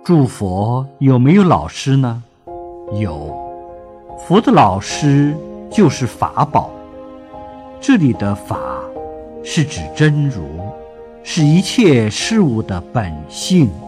诸佛有没有老师呢？有，佛的老师就是法宝。这里的法是指真如，是一切事物的本性。